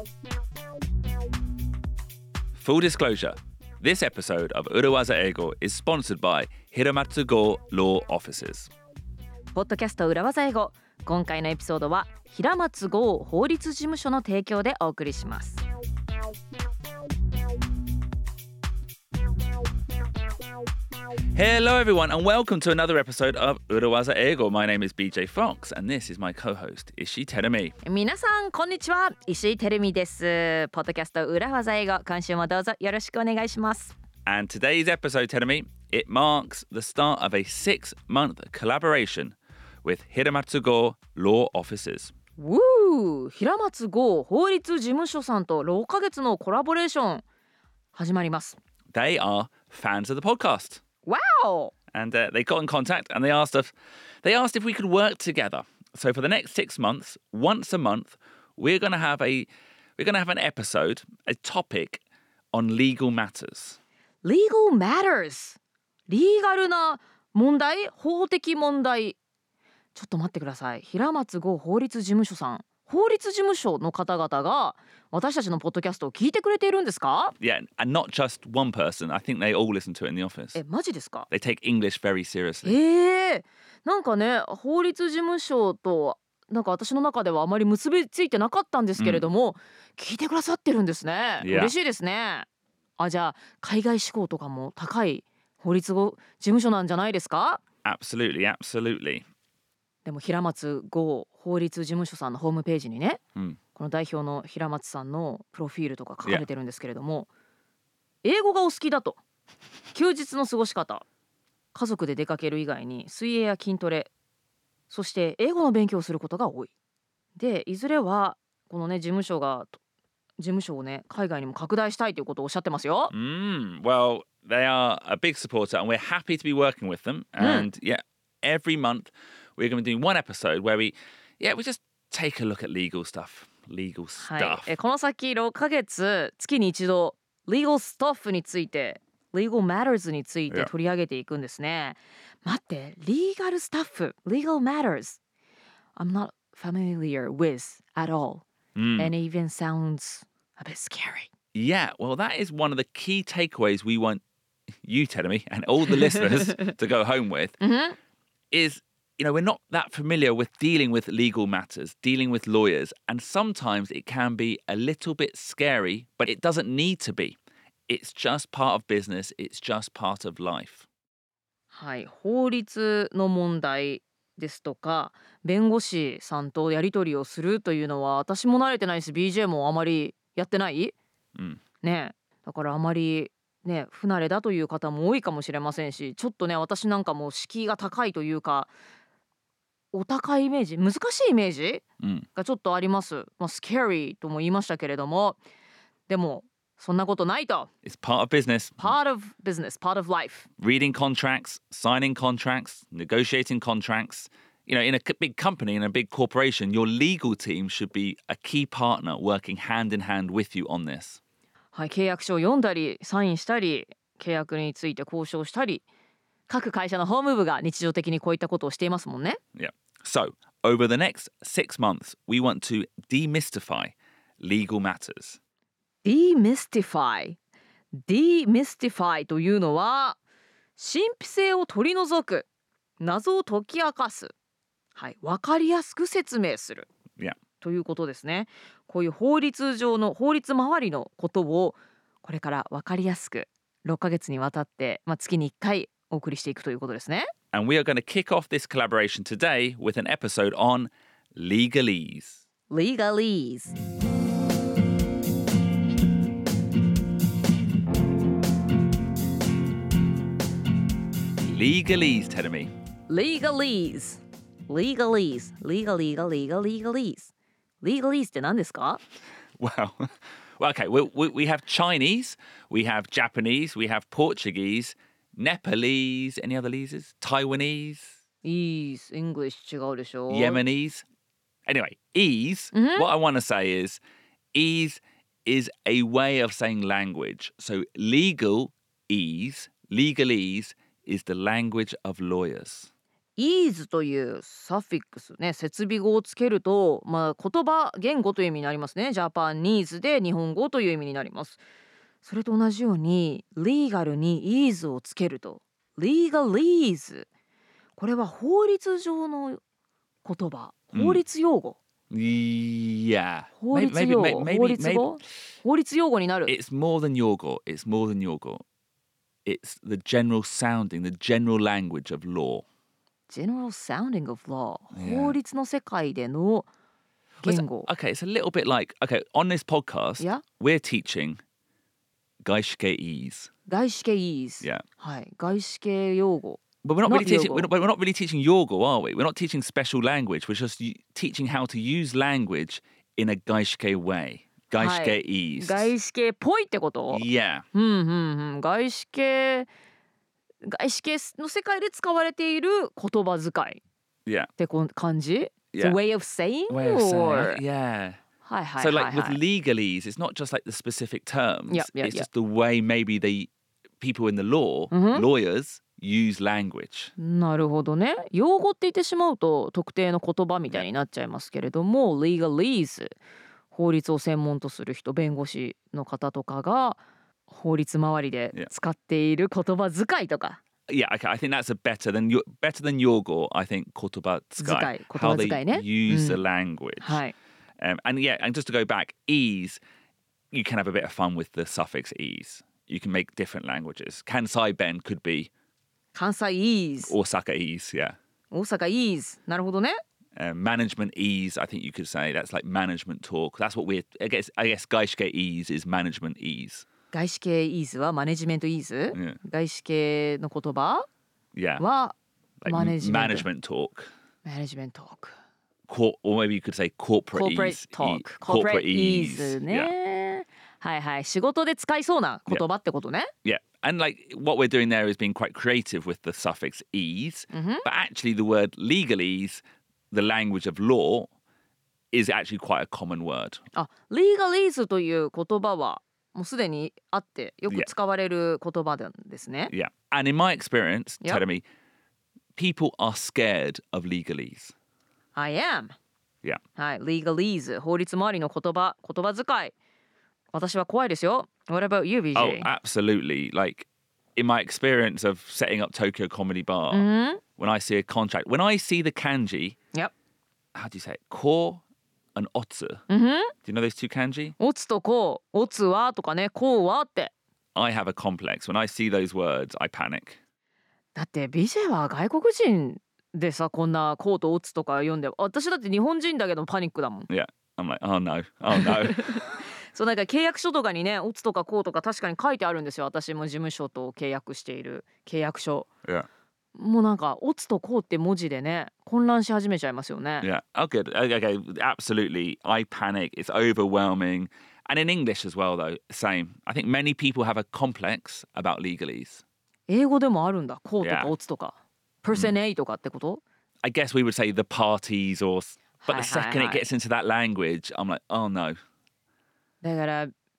Full disclosure, this episode of Urawaza Eigo is sponsored by Hiramatsu Go Law Offices. ポッドキャスト裏技英語、今回のエピソードは平松剛法律事務所の提供でお送りします。 Hello everyone and welcome to another episode of Urawaza Eigo. My name is BJ Fox and this is my co-host Ishii Terumi. 皆さんこんにちは、石井てるみです。ポッドキャスト裏技英語、今週もどうぞよろしくお願いします。 And today's episode, Terumi, it marks the start of a 6-month collaboration with Hiramatsu Go Law Offices. 平松剛法律事務所さんと6ヶ月のコラボレーション始まります。 They are fans of the podcast.Wow! And they got in contact and they asked if we could work together. So for the next 6 months, once a month, we're going to have an episode, a topic on legal matters. Legal matters. リーガルな問題、法的問題。ちょっと待ってください。平松剛法律事務所さん。法律事務所の方々が私たちのポッドキャストを聞いてくれているんですか？ Yeah, and not just one person. I think they all listen to it in the office. マジですか？ They take English very seriously. なんかね、法律事務所となんか私の中ではあまり結びついてなかったんですけれども、聞いてくださってるんですね。嬉しいですね。じゃあ海外志向とかも高い法律事務所なんじゃないですか？ Absolutely, absolutely. でも平松剛法律事務所さんのホームページにね、この代表の平松さんのプロフィールとか書かれてるんですけれども、英語がお好きだと、休日の過ごし方、家族で出かける以外に水泳や筋トレ、そして英語の勉強をすることが多い。で、いずれはこのね事務所をね海外にも拡大したいということをおっしゃってますよ。 Well, they are a big supporter and we're happy to be working with them. And every month we're going to be doing one episode where we just take a look at legal stuff. この先6ヶ月月に一度 legal stuff について legal matters について取り上げていくんですね。待って、legal stuff, legal matters I'm not familiar with at all. And it even sounds a bit scary. Yeah, well that is one of the key takeaways we want you, Terumi, and all the listeners to go home with is, you know, we're not that familiar with dealing with legal matters, dealing with lawyers, and sometimes it can be a little bit scary, but it doesn't need to be. It's just part of business, it's just part of life. はい、法律の問題ですとか、弁護士さんとやり取りをするというのは私も慣れてないし、BJ もあまりやってない、ね、だからあまりね不慣れだという方も多いかもしれませんし、ちょっとね私なんかも敷居が高いというか、お高いイメージ、難しいイメージがちょっとあります。scary とも言いましたけれども、でもそんなことないと。 It's part of business. Part of business, part of life. Reading contracts, signing contracts, negotiating contracts. You know, in a big company, in a big corporation, your legal team should be a key partner working hand in hand with you on this. はい、契約書を読んだり、サインしたり、契約について交渉したり、各会社の法務部が日常的にこういったことをしていますもんね。 Yeah. So, over the next 6 months, we want to demystify legal matters. Demystify というのは神秘性を取り除く、謎を解き明かす、はい、分かりやすく説明する、ということですね。こういう法律周りのことをこれから分かりやすく6ヶ月にわたって、月に1回お送りしていくということですね。 And we are going to kick off this collaboration today with an episode on legalese. Legalese. Legalese, Terumi. Legalese. Legalese って何ですか？ Well, okay, we have Chinese, we have Japanese, we have Portuguese, Nepalese, any other leases? Taiwanese? English 違うでしょ？ Yemenis? Anyway, ease, what I want to say is ease is a way of saying language. So legalese is the language of lawyers. ease というサフィックスね、設備語をつけると、言葉言語という意味になりますね。ジャパニーズで日本語という意味になります。それと同じように legal に ease をつけると legalese、 これは法律上の言葉、法律用語、 Yeah. 法律 Maybe, 用 maybe, 語、 maybe, 法律 maybe 語、法律用語になる。 it's more than yogo. It's more than yogo. It's the general sounding, the general language of law. General sounding of law、 Yeah. 法律の世界での言語。 Okay, it's a little bit like, okay, on this podcast, Yeah. we're teaching Gaishike-ese. 外資系 ease、 Yeah. はい、外資系用語。 But we're not Not really teaching. yogo. We're not really teaching yogo, are we? We're not teaching special language. We're just teaching how to use language in a gaishike way. Gaishike-ese. 外資系っぽいってこと？ Yeah. 外資系の世界で使われている言葉遣い Yeah. って感じ？ It's a Yeah. way of saying? Way of saying or... it. Yeah. はいはい So はい like with はい。 legalese, it's not just like the specific terms. Yeah, yeah, it's yeah. just the way maybe the people in the law, lawyers, use language. なるほどね。用語って言ってしまうと特定の言葉みたいになっちゃいますけれども、legalese、 法律を専門とする人、弁護士の方とかが法律周りで使っている言葉遣いとか。 Yeah, okay. I think that's a better than yogo. I think 言葉遣い. How they 言葉遣いね。 use the language. はい。 And yeah, and just to go back, ease, you can have a bit of fun with the suffix ease. You can make different languages. Kansai Ben could be 関西 ease、 Osaka ease, yeah. 大阪 ease、 なるほどね。 Management ease, I think you could say that's like management talk. That's what I guess Gaishike ease is management ease. 外資系 ease はマネジメント ease、 Yeah. 外資系の言葉 Yeah. は Like マネジメント management talk. マネジメントトーク、 Or maybe you could say corporate corporate ease. talk、 Corporate corporate ease ね、 はいはい、仕事で使いそうな言葉ってことね。 Yeah. And like what we're doing there is being quite creative with the suffix ease. But actually the word legalese, the language of law, is actually quite a common word. あ、legalese という言葉はもうすでにあってよく使われる言葉なんですね。 Yeah. And in my experience, Yep. Teremi, people are scared of legalese. I am。 Yeah. はい、legalese、 法律周りの言葉遣い。私は怖いですよ。What about you, BJ? Oh, absolutely. Like in my experience of setting up Tokyo Comedy Bar, when I see a contract, when I see the kanji, Yep. how do you say it? Ko and otsu. Do you know those two kanji? オツとコウ、オツはとかね、コウはって。 I have a complex. When I see those words, I panic. だって BJ は外国人でさ、こんなコウとオツとか読んで、私だって日本人だけどパニックだもん。 Yeah. I'm like, oh no, oh no. そう、なんか契約書とかにね、オツとかコウとか確かに書いてあるんですよ。私も事務所と契約している契約書。 Yeah. もうなんかオツとコウって文字でね、混乱し始めちゃいますよね。 Yeah. Oh, good. Okay. Absolutely. I panic. It's overwhelming. And in English as well, though, same. I think many people have a complex about legalese. 英語でもあるんだ。コウとか Yeah. オツとか。person A とかってこと？ I guess we would say the parties or... But the second Hi. it gets into that language, I'm like, oh no. だから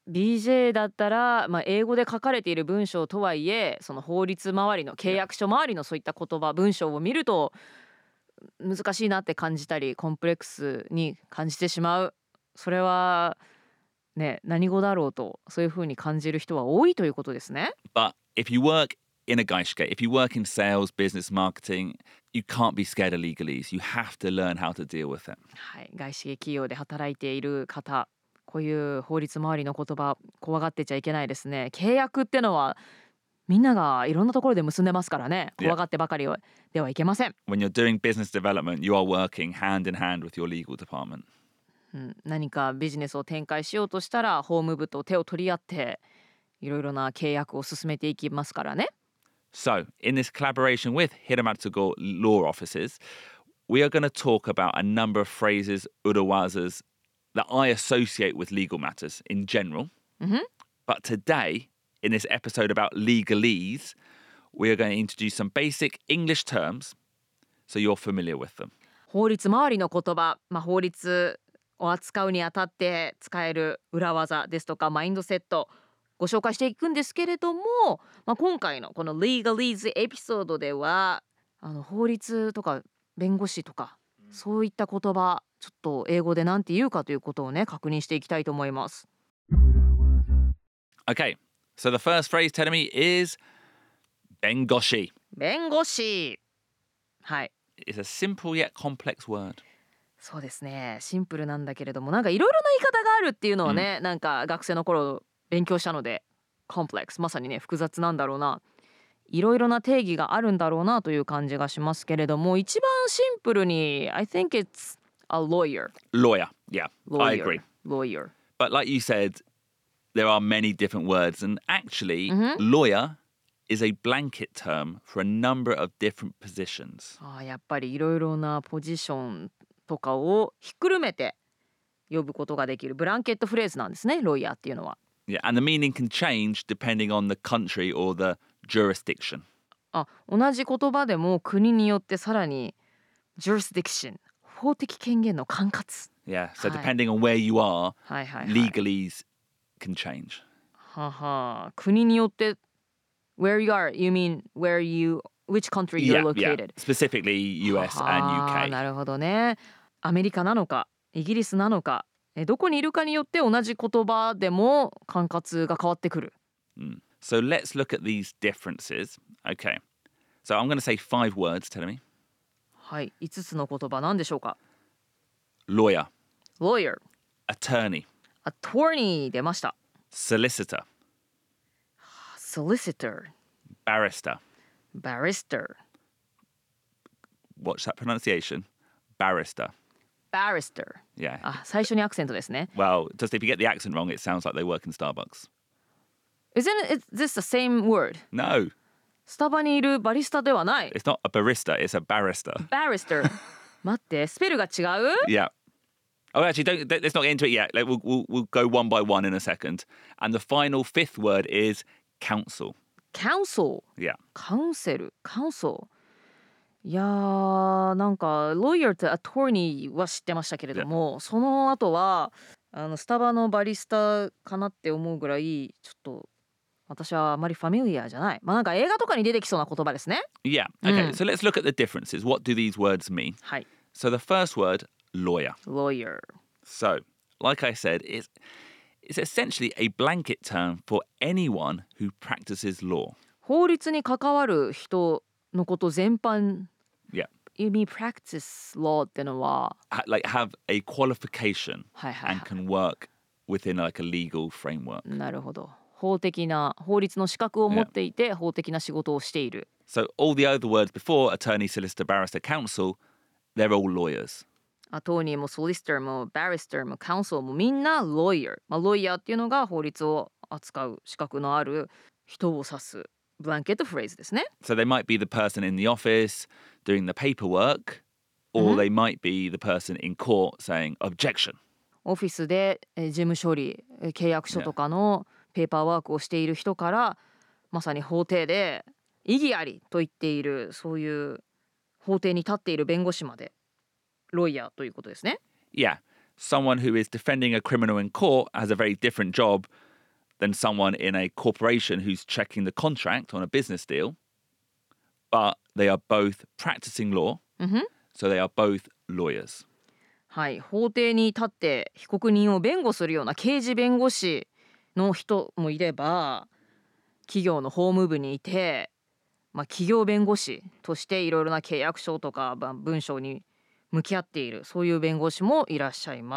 BJ だったら、英語で書かれている文章とはいえ、その法律周りの契約書周りのそういった言葉文章を見ると難しいなって感じたり、コンプレックスに感じてしまう。それはね、何語だろうとそういう風に感じる人は多いということですね。 But if you work in a gaishike, if you work in sales, business, marketing, you can't be scared of legalese. You have to learn how to deal with it. はい、外資系企業で働いている方、こういう法律周りの言葉怖がってちゃいけないですね。契約ってのはみんながいろんなところで結んでますからね。怖がってばかりではいけません。 When you're doing business development, you are working hand in hand with your legal department. 何かビジネスを展開しようとしたら法務部と手を取り合っていろいろな契約を進めていきますからね。 So, in this collaboration with Hiramatsugo law offices, we are going to talk about a number of phrases, urawazas, that I associate with legal matters in general. But today, in this episode about legalese, we are going to introduce some basic English terms so you're familiar with them. 法律周りの言葉、法律を扱うにあたって使える裏技ですとかマインドセットご紹介していくんですけれども、今回のこの legalese エピソードでは法律とか弁護士とかそういった言葉ちょっと英語でなんて言うかということをね確認していきたいと思います。 Okay, so the first phrase, Teremi, is bengoshi. 弁護士。はい、 It's a simple yet complex word. そうですね。シンプルなんだけれどもなんかいろいろな言い方があるっていうのはね、なんか学生の頃勉強したのでコンプレックスまさにね複雑なんだろうな、いろいろな定義があるんだろうなという感じがしますけれども、一番シンプルに I think it's a lawyer. Lawyer, yeah, I agree. Lawyer. But like you said, there are many different words, and actually, lawyer is a blanket term for a number of different positions. やっぱりいろいろなポジションとかをひっくるめて呼ぶことができるブランケットフレーズなんですね、ロイヤーっていうのは。 Yeah, and the meaning can change depending on the country or the jurisdiction. 同じ言葉でも国によってさらに jurisdiction 法的権限の管轄。 Yeah, so はい。 depending on where you are, はいはいはい。 legalese can change. はは、国によって where you are, you mean where you, which country you're located? Specifically US and な UK. るほどね。アメリカなのかイギリスなのかどこにいるかによって同じ言葉でも管轄が変わってくる。 So let's look at these differences. Okay, so I'm going to say 5 words, Telemi. はい、5つの言葉なんでしょうか。 Lawyer, lawyer, attorney, attorney 出ました。 solicitor, solicitor, barrister. barrister, Watch that pronunciation. Barrister. barrister. Yeah. 最初にアクセントですね。 Well, just if you get the accent wrong, it sounds like they work in Starbucks. Isn't this the same word? No, スタバにいるバリスタではない。 it's not a barista, it's a barrister. barrister 待ってスペルが違う。 Yeah. Oh, actually, let's not get into it yet. Like, we'll go one by one in a second. And the final 5th word is counsel. counsel Yeah. カウンセル、カウンソル。いやーなんか lawyer と attorney は知ってましたけれども、その後はスタバのバリスタかなって思うぐらいちょっと私はあまりファミリアじゃない。なんか映画とかに出てきそうな言葉ですね。 Yeah. Okay, so let's look at the differences. What do these words mean? はい。 So the first word, lawyer. lawyer. So, like I said, it's essentially a blanket term for anyone who practices law. 法律に関わる人のこと全般。 Yeah. You mean practice law ってのは、 Like have a qualification はいはい and は can work within like a legal framework. い。なるほど。法的な法律の資格を持っていて、法的な仕事をしている。 So all the other words before, attorney, solicitor, barrister, counsel, they're all lawyers. アトーニーもソリスターもバリスターもカウンソルもみんな lawyer。ロイヤーっていうのが法律を扱う資格のある人を指すブランケットフレーズですね。 So they might be the person in the office doing the paperwork, or they might be the person in court saying objection. オフィスで事務処理、契約書とかのペーパーワークをしている人からまさに法廷で異議ありと言っている、そういう法廷に立っている弁護士までロイヤーということですね。 Yeah, someone who is defending a criminal in court has a very different job than someone in a corporation who's checking the contract on a business deal. But they are both practicing law, so they are both lawyers. はい、法廷に立って被告人を弁護するような刑事弁護士の人もいれば、企業の法務部にいて、企業弁護士としていろいろな契約書とか文章に向き合っている、そういう弁護士もいらっしゃいます。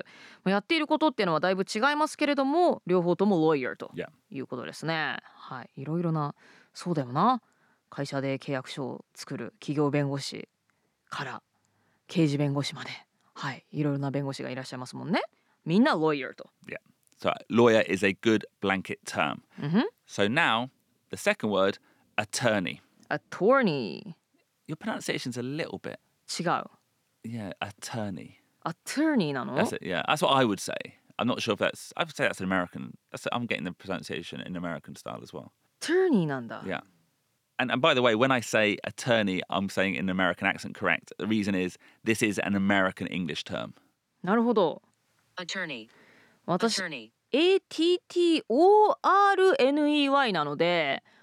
やっていることっていうのはだいぶ違いますけれども、両方とも lawyer と Yeah. いうことですね。はい、いろいろな、そうだよな、会社で契約書を作る企業弁護士から刑事弁護士まで、はい、いろいろな弁護士がいらっしゃいますもんね。みんな lawyer と。 Yeah. So lawyer is a good blanket term. So now the second word, attorney. attorney Your pronunciation's a little bit. 違う。 Yeah, attorney. attorney なの？ That's it. Yeah, that's what I would say. I'm not sure if that's. I would say that's an American. I'm getting the pronunciation in American style as well. attorney なんだ。 Yeah. And by the way, when I say attorney, I'm saying in an American accent, correct? The reason is this is an American English term. なるほど。 attorney, 私 attorney, ATTORNEY なので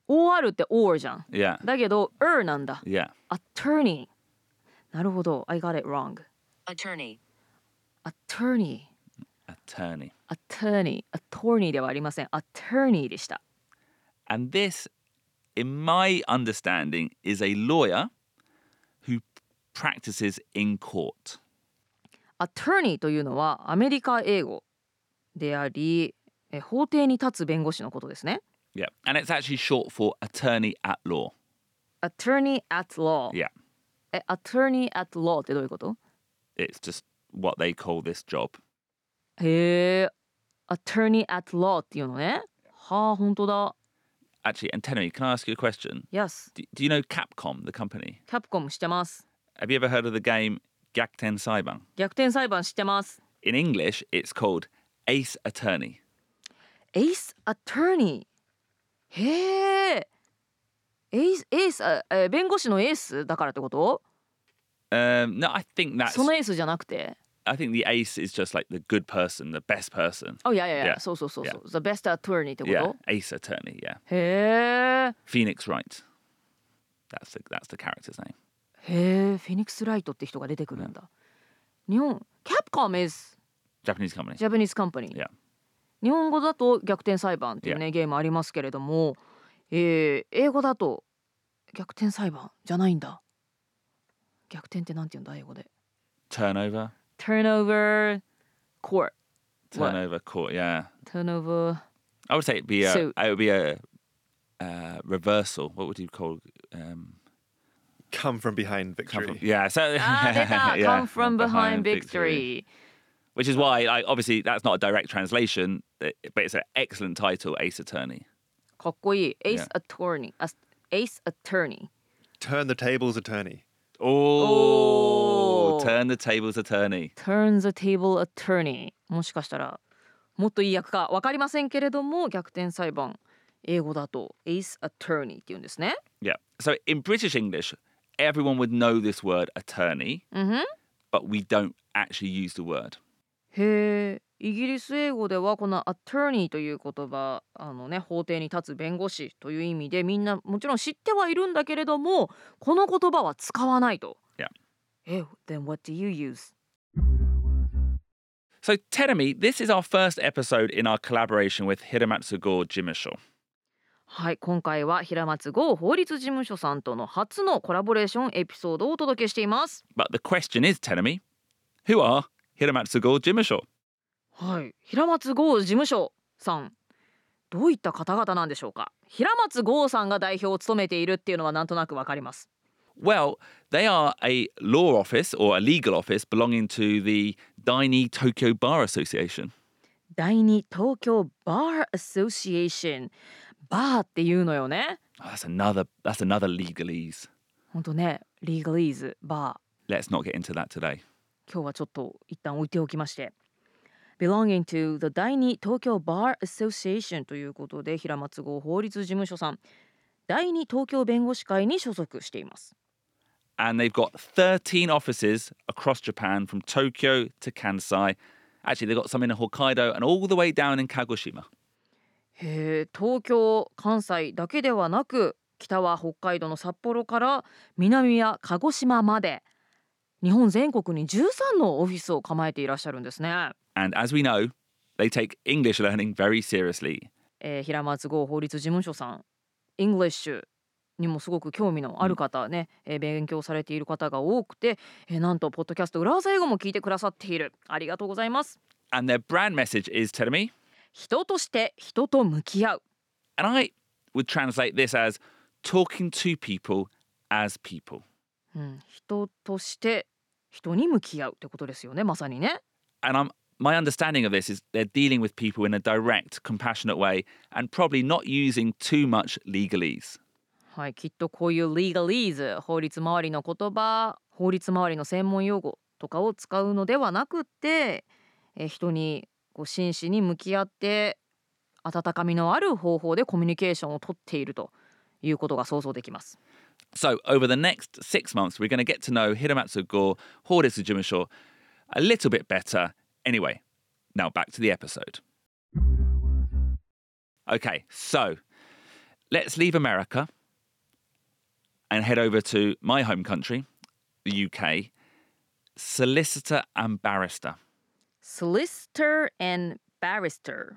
OR って OR じゃん。 Yeah. だけどなんだ。 Yeah. Attorney。 なるほど。I got it wrong. Attorney. Attorney。 Attorney. Attorney ではありません。Attorney でした。 And this, in my understanding, is a lawyer who practices in court. Attorney というのはアメリカ英語であり、法廷に立つ弁護士のことですね。 Yeah. And it's actually short for attorney at law. Attorney at law。 Yeah. Attorney at law ってどういうこと？ It's just what they call this job. へえ、Attorney at law っていうのね。はあ、本当だ。 Actually, and Tenemy, can I ask you a question? Yes。 Do you know Capcom, the company? Capcom 知ってます。 Have you ever heard of the game Gyakuten Saiban? 逆転裁判知ってます。 In English, it's called Ace Attorney. Ace Attorney。へえ。弁護士のエースだからってこと？ No, I think that's... そのエースじゃなくて。 I think the ace is just like the good person, the best person. Oh, yeah. Yeah. そう。The Yeah. best attorney ってこと？ Yeah, ace attorney, yeah. へえ。 Phoenix Wright. That's the character's name. へえ、フェニックスライトって人が出てくるんだ。日本、Capcom is Japanese company. Japanese company。 Yeah. 日本語だと逆転裁判っていうね、ゲームありますけれども、英語だと逆転裁判じゃないんだ。逆転ってなんて言うんだ英語で。 Turnover. Turnover court。 Turnover court, yeah. Turnover I would say it'd be suit。 it would be a reversal. What would you call Come from behind victory. yeah, so 出た。 yeah, Come from behind victory。 Which is why, like, obviously, that's not a direct translation, but it's an excellent title, Ace Attorney. かっこいい。Ace Yeah. Attorney。Ace Attorney。 Turn the tables attorney. Oh, turn the tables attorney. Turn the table attorney。 もしかしたらもっといい訳か分かりませんけれども、逆転裁判英語だと Ace Attorney って言うんですね。 Yeah. So in British English, everyone would know this word attorney, but we don't actually use the word. へえ、イギリス英語ではこの attorney という言葉、法廷に立つ弁護士という意味でみんなもちろん知ってはいるんだけれども、この言葉は使わないと。 Yeah. Then what do you use? So Terumi, this is our first episode in our collaboration with Hiramatsu Go Jimusho. はい、今回は平松剛法律事務所さんとの初のコラボレーションエピソードをお届けしています。 But the question is, Terumi, who are Hiramatsu Go Jimusho? はい、平松剛事務所さん、どういった方々なんでしょうか。平松剛さんが代表を務めているっていうのはなんとなくわかります。 Well, they are a law office or a legal office belonging to the Daini Tokyo Bar Association. 第二東京バーアソシエーション、バーっていうのよね。 Oh, that's another legalese. ほんとね、リーガリーズ、バー。 Let's not get into that today. 今日はちょっと一旦置いておきまして。Belonging to the 第二東京バーアソシエーションということで、平松剛法律事務所さん、第二東京弁護士会に所属しています。 And they've got 13 offices across Japan from Tokyo to Kansai. Actually, they've got some in Hokkaido and all the way down in Kagoshima. へえ、東京、関西だけではなく、北は北海道の札幌から南は鹿児島まで、日本全国に13のオフィスを構えていらっしゃるんですね。 And as we know, they take English learning very seriously. 平松剛法律事務所さん、イングリッシュにもすごく興味のある方ね、勉強されている方が多くて、なんとポッドキャスト裏技英語も聞いてくださっている。ありがとうございます。 And their brand message is, Terumi, 人として人と向き合う。 and I would translate this as talking to people as people. 人として人に向き合うってことですよね、まさにね。 And my understanding of this is they're dealing with people in a direct, compassionate way and probably not using too much legalese. はい、きっとこういう legalese、 法律周りの言葉、法律周りの専門用語とかを使うのではなくって、人に真摯に向き合って温かみのある方法でコミュニケーションをとっているということが想像できます。 So over the next 6 months, we're going to get to know Hiramatsu Go Horitsu Jimusho a little bit better. Anyway, now back to the episode. Okay, so let's leave America and head over to my home country, the UK. Solicitor and barrister. Solicitor and barrister.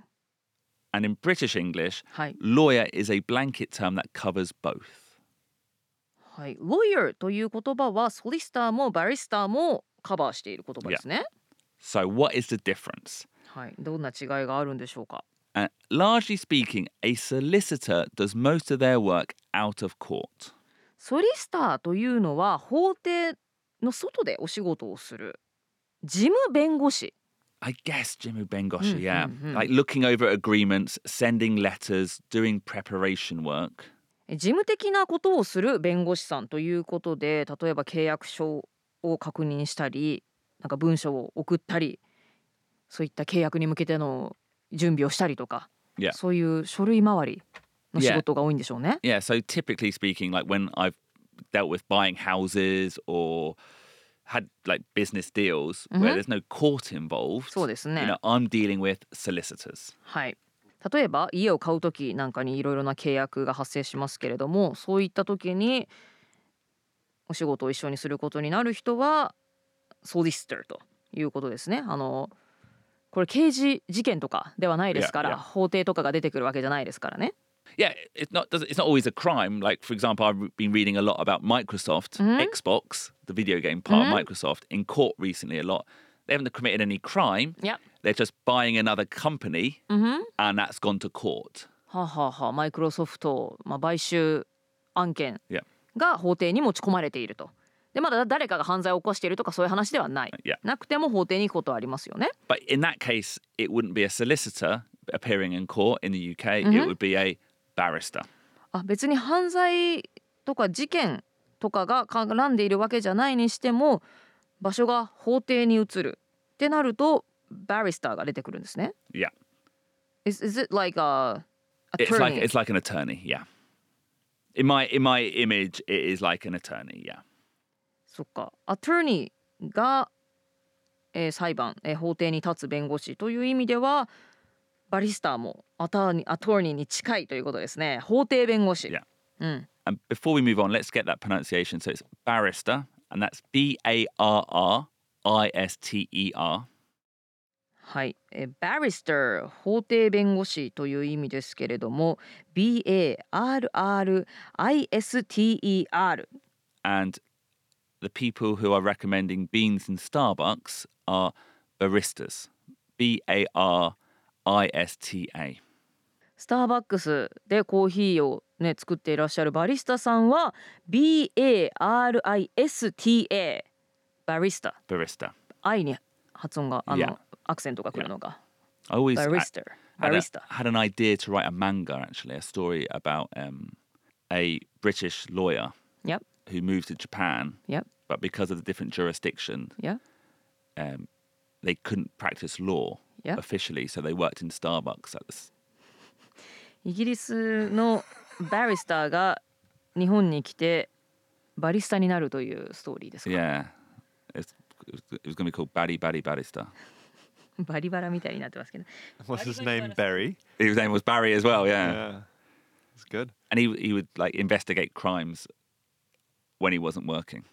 And in British English, はい。 lawyer is a blanket term that covers both. はい。lawyer という言葉はソリスターもバリスターもカバーしている言葉ですね。 So what is the difference? はい。どんな違いがあるんでしょうか。 Largely speaking, a solicitor does most of their work out of court. ソリスターというのは法廷の外でお仕事をする事務弁護士。 I guess Jimu Bengoshi, yeah. mm. Like looking over agreements, sending letters, doing preparation work. 事務的なことをする弁護士さんということで、例えば契約書を確認したり、なんか文書を送ったり、そういった契約に向けての準備をしたりとか、 Yeah. そういう書類回りの仕事が多いんでしょうね。 Yeah, so typically speaking, like when I've dealt with buying houses or had like business deals where there's no court involved, そうですね。 I'm dealing with solicitors. はい。例えば家を買うときなんかにいろいろな契約が発生しますけれども、そういったときにお仕事を一緒にすることになる人はソリシターということですね。これ刑事事件とかではないですから、 Yeah, yeah. 法廷とかが出てくるわけじゃないですからね。 Yeah, it's not always a crime. Like, for example, I've been reading a lot about Microsoft, Xbox, the video game part of Microsoft, in court recently a lot. They haven't committed any crime. Yep. They're just buying another company, and that's gone to court. はあはあはあ、マイクロソフト、買収案件 Yeah. が法廷に持ち込まれていると。でまだ誰かが犯罪を起こしているとかそういう話ではない。 Yeah. なくても法廷に行くことはありますよね。 But in that case, it wouldn't be a solicitor appearing in court in the UK. It would be a barrister. 別に犯罪とか事件とかが絡んでいるわけじゃないにしても場所が法廷に移るってなるとバリスターが出てくるんですね。 Yeah. Is it like a attorney? It's like an attorney. Yeah. In my image, it is like an attorney. Yeah. そっか。アトーニーが、裁判、法廷に立つ弁護士という意味ではバリスターもアトーニーに近いということですね。法廷弁護士。 Yeah. うん。 And before we move on, let's get that pronunciation. So it's barrister, and that's BARRISTER. はい、barrister 法廷弁護士という意味ですけれども BARRISTER And the people who are recommending beans in Starbucks are baristas. BARISTA. スターバックスでコーヒーをね作っていらっしゃるバリスタさんは BARISTA バリスタ Barista. I に発音が Yeah. アクセントが来るのが I always Barrister had an idea to write a manga, actually, a story about a British lawyer Yep, who moved to Japan, yep, but because of the different jurisdiction, yep. they couldn't practice law Yeah. officially, so they worked in Starbucks at this. イギリスのバリスターが日本に来てバリスタになるというストーリーですか。 Yeah, it was going to be called Baddy Baddy Barrister. バリバラみたいになってますけど。 What's his name? Barry. His name was Barry as well, yeah. Yeah. It's good. And he would like investigate crimes when he wasn't working.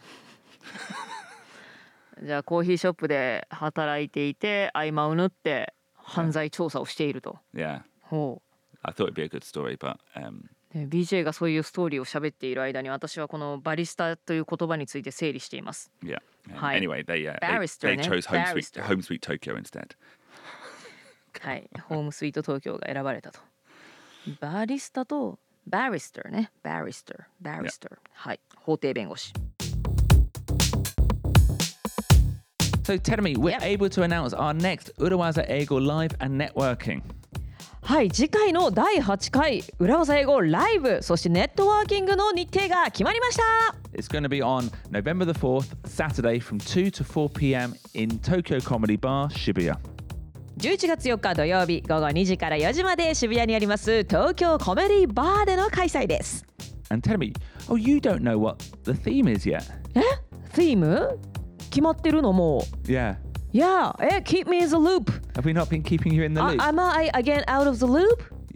じゃあコーヒーショップで働いていて合間を縫って犯罪調査をしていると。 Yeah, ほ I thought it'd be a good story, but う。BJ がそういうストーリーを喋っている間に私はこのバリスタという言葉について整理しています。 yeah. Hi. Anyway, they Barrister, they chose Home Barrister. Sweet Tokyo instead. はい、ホームスイート東京が選ばれたと。バリスタとバリスターね。バリスター。はい、法廷弁護士。 So tell me, we're Yep. able to announce our next Urawaza Eigo Live and Networking. はい、次回の第8回裏技英語ライブ、そしてネットワーキングの日程が決まりました。 It's going to be on November the 4th, Saturday from 2 to 4 p.m. in Tokyo Comedy Bar, Shibuya. 11月4日土曜日午後2時から4時まで渋谷にあります東京コメディバーでの開催です。 And tell me, oh, you don't know what the theme is yet? theme? 決まってるのもう。 Yeah. Yeah, keep me in the loop. Have we not been keeping you in the loop? Am I again out of the loop?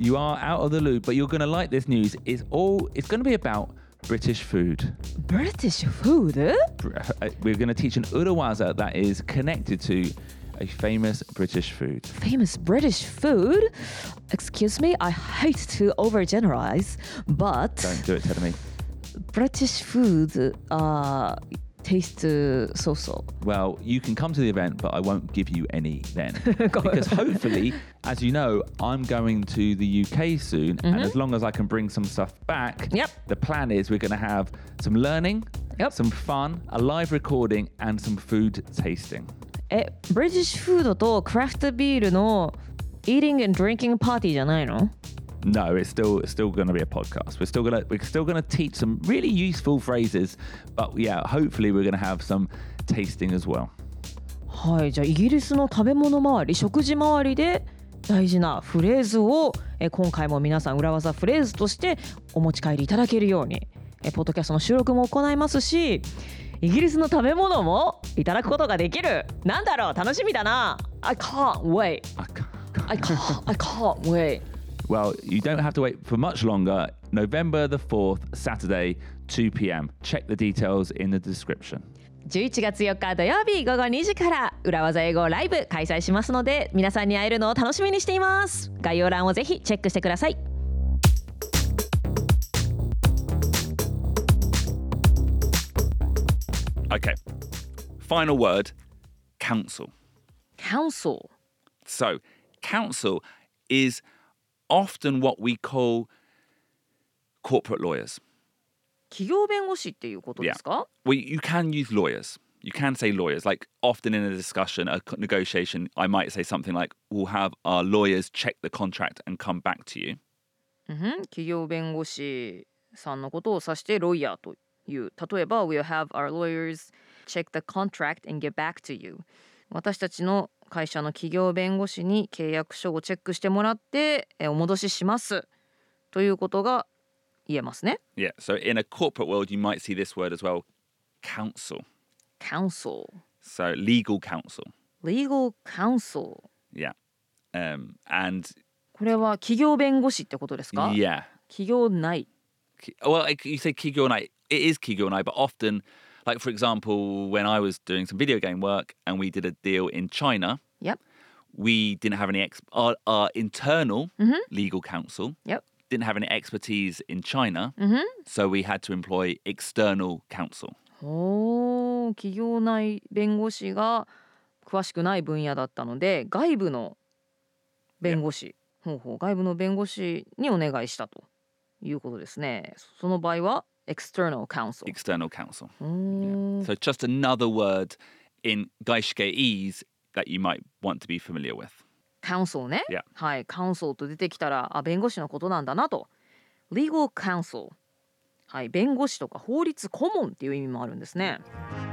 You are out of the loop, but you're going to like this news. It's going to be about British food. British food? We're going to teach an Urawaza that is connected to a famous British food. Famous British food? Excuse me, I hate to overgeneralize, but Don't do it, Tedemi. British food taste so-so. Well, you can come to the event, but I won't give you any then. Because hopefully, as you know, I'm going to the UK soon. And as long as I can bring some stuff back, the plan is we're going to have some learning, some fun, a live recording, and some food tasting. ブリティッシュフードとクラフトビールの eating and drinking パーティーじゃないの? No, it's still going to be a podcast. We're still going to teach some really useful phrases, but yeah, hopefully we're going to have some tasting as well. はい、じゃあイギリスの食べ物周り、食事周りで大事なフレーズを今回も皆さん裏技フレーズとしてお持ち帰りいただけるようにポッドキャストの収録も行いますし、イギリスの食べ物もいただくことができる。なんだろう、楽しみだな。I can't wait. I can't wait. Well, you don't have to wait for much longer. November the 4th, Saturday, 2 p.m. Check the details in the description. 11月4日土曜日午後2時から裏技英語ライブ開催しますので、皆さんに会えるのを楽しみにしています。概要欄をぜひチェックしてください。 Okay. Final word, council. Council. So, council is often what we call corporate lawyers. 企業弁護士っていうことですか? Well, you can use lawyers. You can say lawyers. Like often in a discussion, a negotiation, I might say something like, we'll have our lawyers check the contract and come back to you. 企業弁護士さんのことを指してロイヤーという。例えば、we'll have our lawyers check the contract and get back to you. 私たちの会社の企業弁護士に契約書をチェックしてもらってお戻ししますということが言えますね。 Yeah, so in a corporate world, you might see this word as well, counsel. Counsel. So legal counsel. Legal counsel. Yeah. And これは企業弁護士ってことですか? Yeah. 企業内. Well, you say 企業内. It is 企業内, but often, like for example, when I was doing some video game work and we did a deal in China, Yep. we didn't have any our internal legal counsel Yep. didn't have any expertise in China, so we had to employ external counsel. 企業内弁護士が詳しくない分野だったので、外部の弁護士、外部の弁護士にお願いしたということですね。その場合はexternal counsel. External counsel. Yeah. So just another word in Gaishikeese that you might want to be familiar with. counsel ね。 Yeah. はい、counsel と出てきたら、弁護士のことなんだなと。legal counsel。はい、弁護士とか法律顧問っていう意味もあるんですね。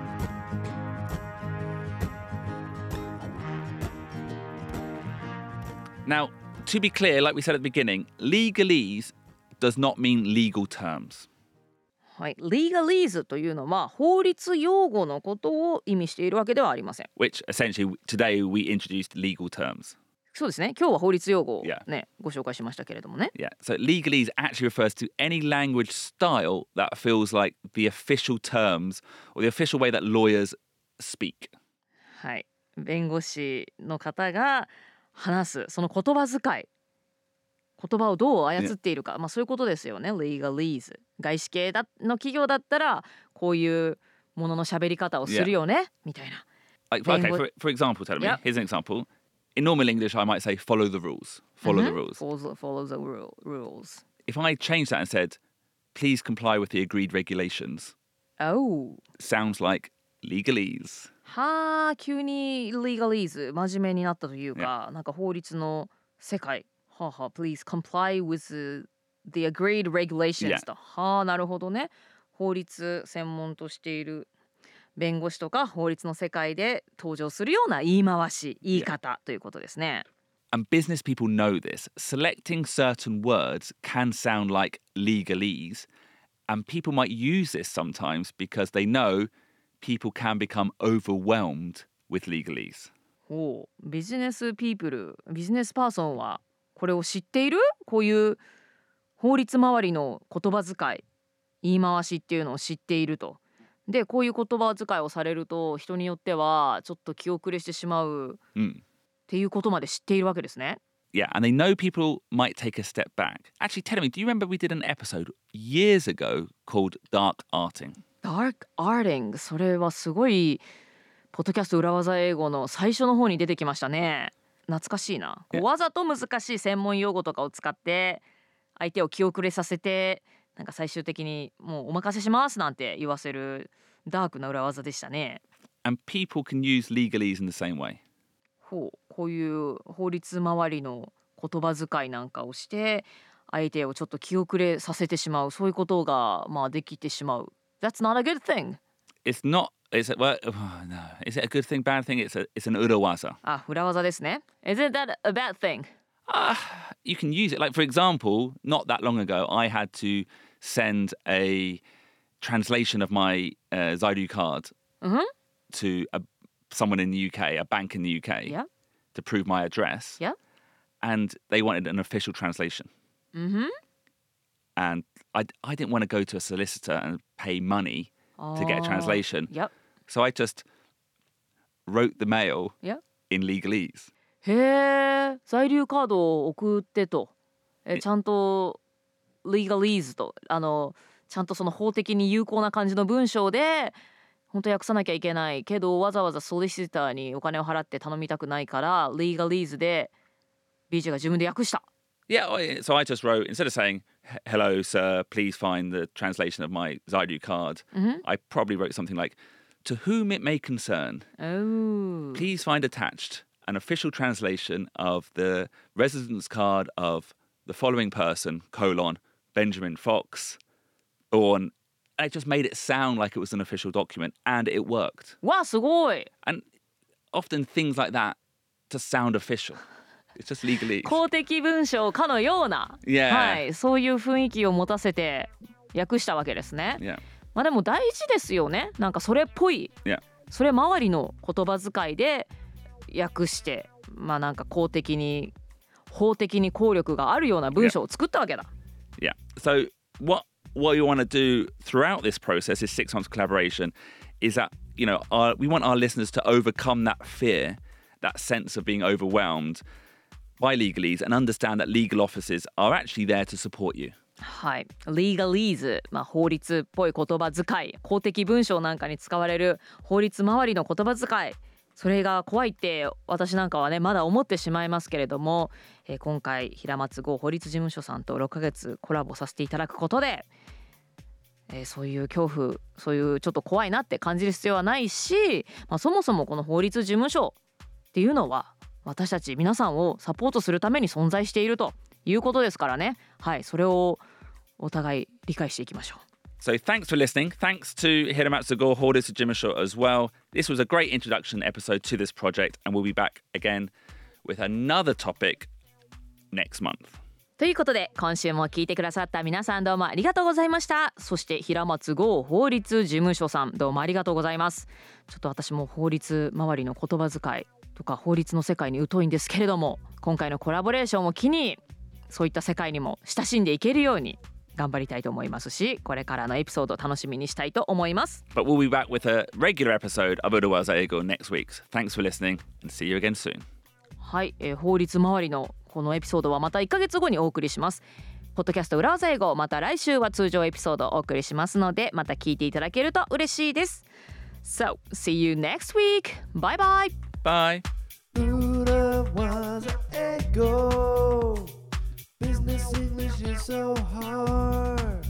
Now, to be clear, like we said at the beginning, legalese does not mean legal terms. はい、legalese というのは法律用語のことを意味しているわけではありません。 Which essentially today we introduced legal terms. そうですね。今日は法律用語をね、 Yeah. ご紹介しましたけれどもね。 Yeah, so legalese actually refers to any language style that feels like the official terms or the official way that lawyers speak. はい、弁護士の方が話すその言葉遣い、言葉をどう操っているか、そういうことですよね。legalese。外資系の企業だったらこういうものの喋り方をするよね、みたいな。 Like, okay, for example, tell me. Yep. Here's an example. In normal English, I might say follow the rules. Follow the rules. Follow the rules. If I changed that and said, please comply with the agreed regulations, Oh. sounds like legalese. はあ、急に legalese 真面目になったというか、なんか法律の世界。はあはあ、please comply with the agreed regulations と。はあ、なるほどね。法律専門としている弁護士とか法律の世界で登場するような言い回し、言い方ということですね。 And business people know this. Selecting certain words can sound like legalese, and people might use this sometimes because they know people can become overwhelmed with legalese. ビジネスピープル、ビジネスパーソンはこれを知っている？ こういう法律周りの言葉遣い、言い回しっていうのを知っていると。でこういう言葉遣いをされると人によってはちょっと気遅れしてしまうっていうことまで知っているわけですね。 Yeah, and they know people might take a step back. Actually, tell me, do you remember we did an episode years ago called Dark Arting? Dark Arting、 それはすごいポッドキャスト裏技英語の最初の方に出てきましたね。懐かしいな。こうわざと難しい専門用語とかを使って相手を気遅れさせて、なんか最終的にもうお任せしますなんて言わせるダークな裏技でしたね。 And people can use legalese in the same way. こういう法律周りの言葉遣いなんかをして相手をちょっと気遅れさせてしまう、そういうことがまあできてしまう。 That's not a good thing. It's not. It's well, no. Is it a good thing, bad thing? It's an urawaza. あ、裏技ですね。 Is it that a bad thing? You can use it. Like for example, not that long ago, I had to send a translation of my Zaidu card to someone in the UK, a bank in the UK, Yeah. to prove my address. Yeah. And they wanted an official translation. And I didn't want to go to a solicitor and pay money to get a translation. Yep. So I just wrote the mail Yep. in legalese. へえ、在留カードを送ってと、ちゃんと legalese とちゃんとその法的に有効な感じの文章で本当訳さなきゃいけないけどわざわざソリシターにお金を払って頼みたくないから legalese で BJ が自分で訳した。 Yeah, so I just wrote, instead of saying, hello, sir, please find the translation of my Zaidu card, I probably wrote something like, to whom it may concern, please find attached an official translation of the residence card of the following person, Benjamin Fox, born. And it just made it sound like it was an official document, and it worked. わあすごい。 And often things like that just sound official. It's just legalese. 公的文章かのような、 Yeah. はい、そういう雰囲気を持たせて訳したわけですね。 Yeah. まあでも大事ですよね。なんかそれっぽい、 Yeah. それ周りの言葉遣いで訳して、まあなんか公的に法的に効力があるような文章を作ったわけだ。 Yeah. So what you want to do throughout this process, this 6 months collaboration, is that, you know, we want our listeners to overcome that fear, that sense of being overwhelmed by legalese, and understand that legal offices are actually there to support you. はい、legalese、まあ、法律っぽい言葉遣い、公的文章なんかに使われる法律周りの言葉遣い、それが怖いって私なんかはねまだ思ってしまいますけれども、今回平松剛法律事務所さんと6ヶ月コラボさせていただくことで、そういう恐怖、そういうちょっと怖いなって感じる必要はないし、まあ、そもそもこの法律事務所っていうのは私たち皆さんをサポートするために存在しているということですからね。はい、それをお互い理解していきましょう。 So thanks for listening. Thanks to Hiramatsu Go Horitsu Jimusho as well. This was a great introduction episode to this project, and we'll be back again with another topic next month. ということで今週も聞いてくださった皆さんどうもありがとうございました。そして平松剛法律事務所さんどうもありがとうございます。ちょっと私も法律周りの言葉遣いとか法律の世界に疎いんですけれども、今回のコラボレーションを機にそういった世界にも親しんでいけるように頑張りたいと思いますし、これからのエピソードを楽しみにしたいと思います。 But we'll be back with a regular episode of Urawaza Eigo next week. Thanks for listening and see you again soon. はい、法律周りのこのエピソードはまた1ヶ月後にお送りします。ポッドキャスト裏技英語、また来週は通常エピソードをお送りしますので、また聞いていただけると嬉しいです。 So, see you next week. Bye bye. Bye. Urawaza Eigo. Business English is so hard.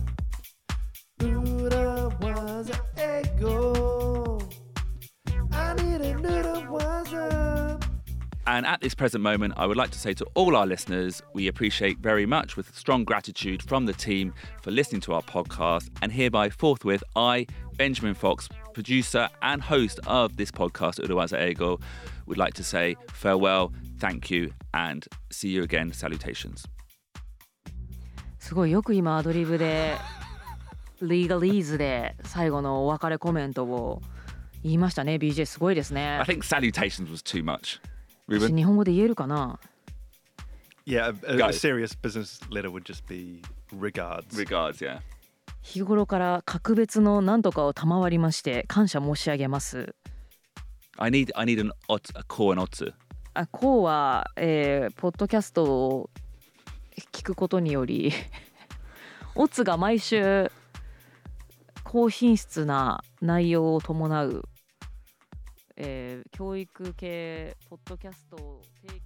Urawaza Eigo. I need a Urawaza. And at this present moment, I would like to say to all our listeners, we appreciate very much with strong gratitude from the team for listening to our podcast. And hereby forthwith, I, Benjamin Fox, producer and host of this podcast, Urawaza Eigo, would like to say farewell, thank you, and see you again. Salutations. すごいよく今アドリブでlegaleseで最後のお別れコメントを言いましたね。 BJ すごいですね。 I think salutations was too much. 私日本語で言えるかな。 Yeah, Go. a serious business letter would just be regards. Regards, yeah. 日頃から格別の何とかを賜りまして感謝申し上げます。 I need a call and otsu. こうは、ポッドキャストを聞くことによりオツが毎週高品質な内容を伴う、教育系ポッドキャストを提供